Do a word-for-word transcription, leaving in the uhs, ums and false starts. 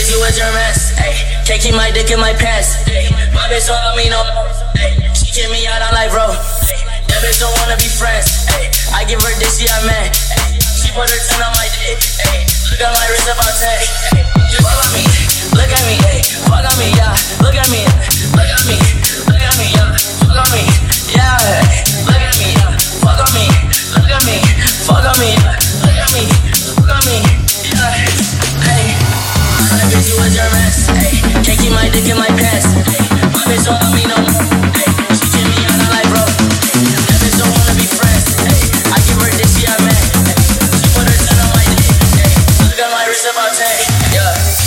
bitch, you was your mess. Ayy, can't keep my dick in my pants. Ayy, my bitch don't love me no more. Ayy, she kick me out, I'm like, bro. Ayy, that bitch don't wanna be friends. Ayy, I give her dick, she a man. Ayy, she put her ten on my dick. Ayy, look at my wrist about ten. Ayy, just fuck on me, look at me. Ayy, fuck on me, yeah. Look at me, look at me, look at me, yeah. Fuck on me, yeah. Ayy, look at me, yeah. Fuck on me, look at me, fuck on me, yeah. Look at me, fuck on me, yeah. Ayy, that bitch, you was your mess. Ayy, can't keep my dick in my pants. Ayy, my bitch don't love me no more. Ayy, she kick me out, I'm like, bro. Ayy, that bitch don't wanna be friends. Ayy, I give her dick, she a man. Ayy, she put her ten on my dick. Ayy, look at my wrist about ten. Yeah.